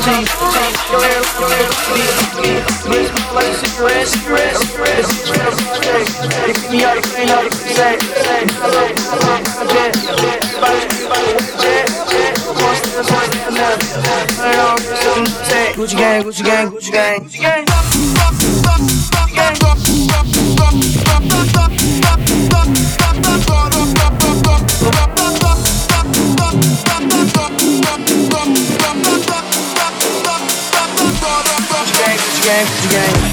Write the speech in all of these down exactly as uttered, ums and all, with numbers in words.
change, change. Your hair, your hair, wrist like a cigarette, cigarette, cigarette. It's just from the street. You keep me out of clean, out of say, say. Jet, jet, everybody, everybody, jet, jet. One step, one step, another. Turn it on, say. Gucci gang, Gucci gang, Gucci gang, Gucci gang. Gang, Gucci gang.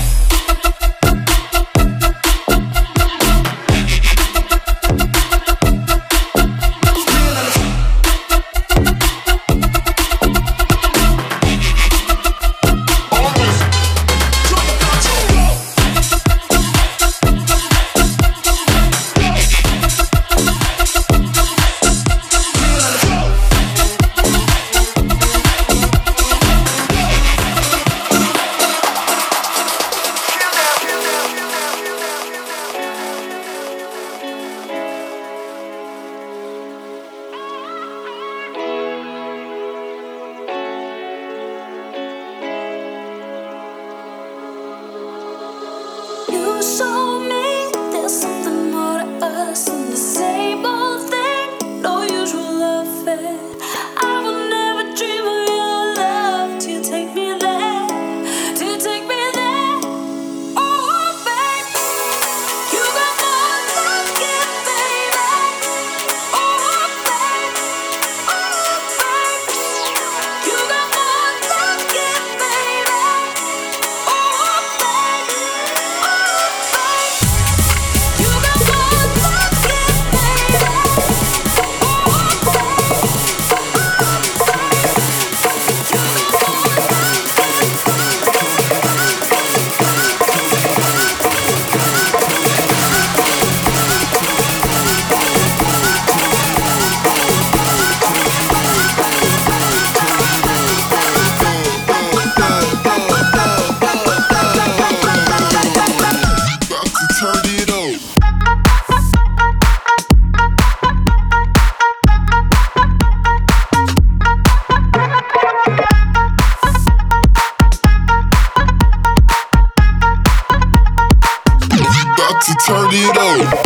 Turn it up.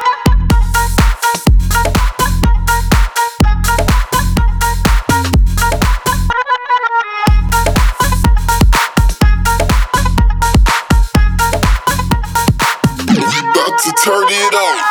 About to turn it up.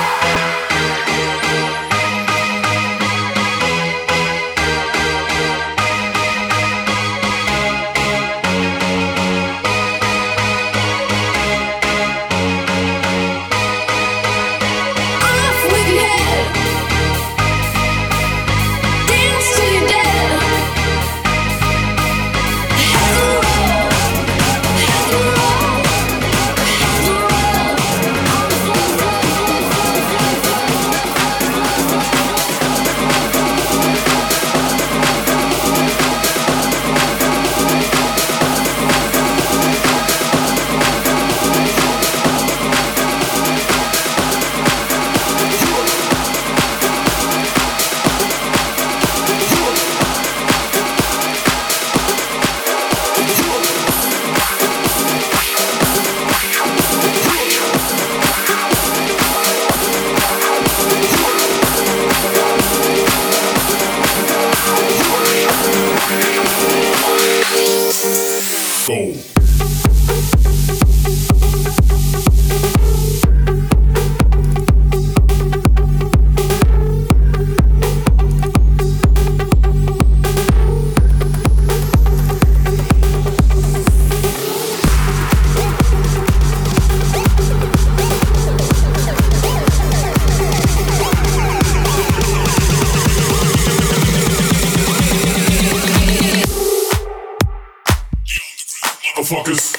Motherfuckers.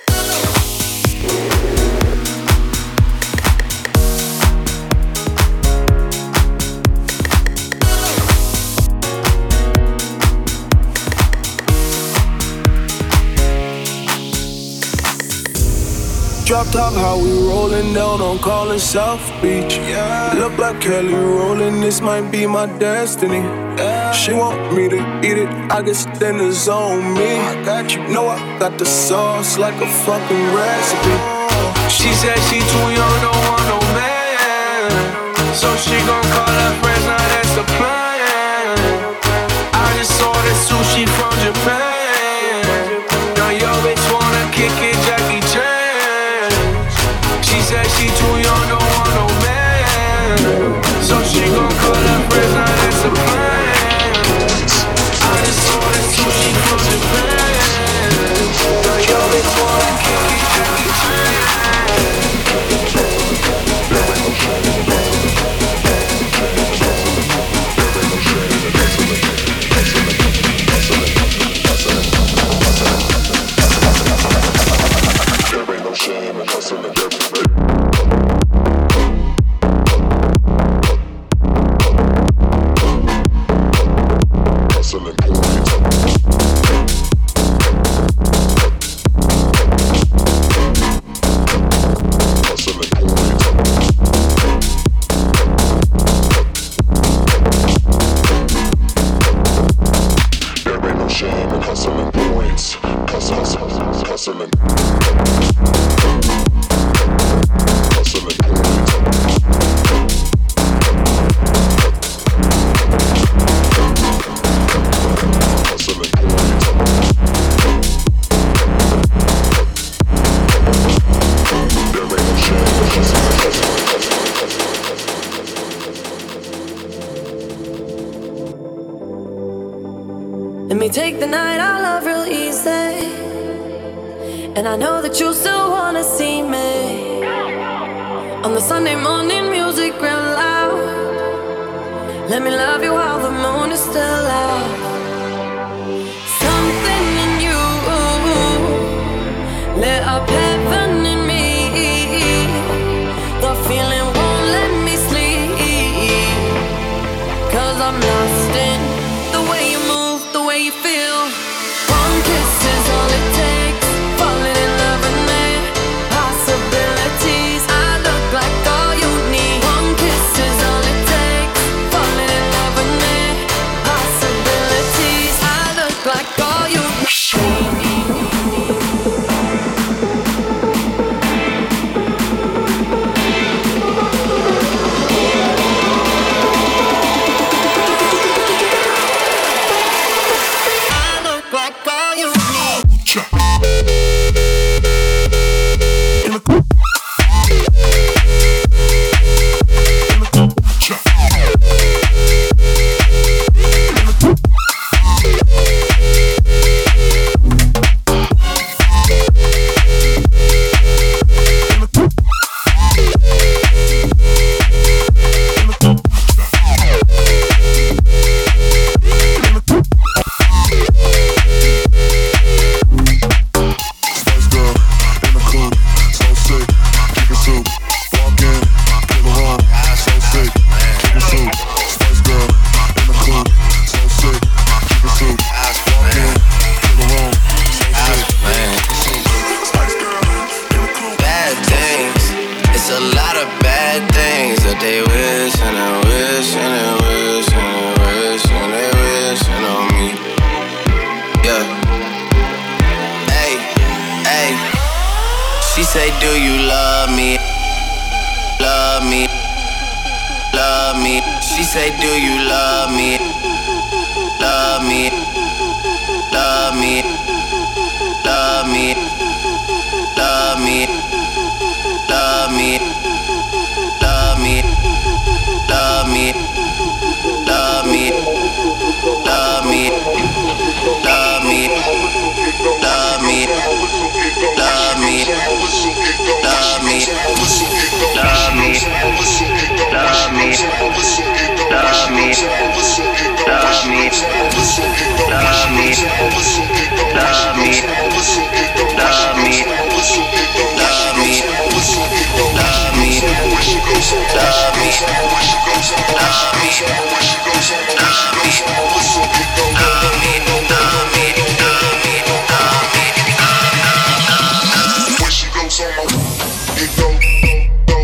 Drop top, how we rollin' down on Collins South Beach. Yeah. Look like Kelly rolling, this might be my destiny. She want me to eat it, I guess then it's on me. I got you, know I got the sauce like a fucking recipe. She said she too young, don't want no man, so she gon' call her friends, now that's the plan. I just saw that sushi from Japan. Now yo bitch wanna kick it, Jackie Chan. She said she too young, don't want no man, so she gon' call her friends, now that's the plan. I just saw that sushi from Japan. Now yo bitch wanna kick it, Jackie Chan. Let me take the night I love real easy, and I know that you still wanna see me on the Sunday morning music real loud. Let me love you while the moon is still out. Something in you lit up heaven in me. The feeling won't let me sleep, 'cause I'm lost in the way you move, the way you feel. One kiss is all it takes, falling in love with me. Possibilities, I look like all you need. One kiss is all it takes, falling in love with me. Possibilities, I look like all you need.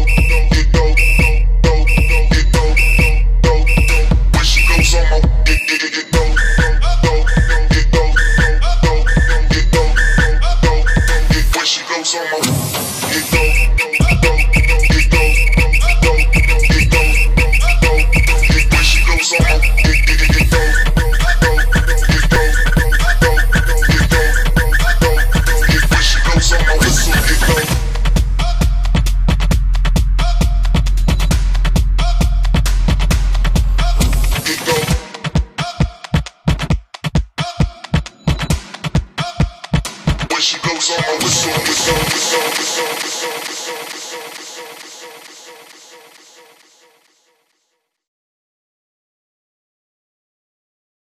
It She goes on my whistle, whistle, whistle, whistle, whistle, whistle, whistle.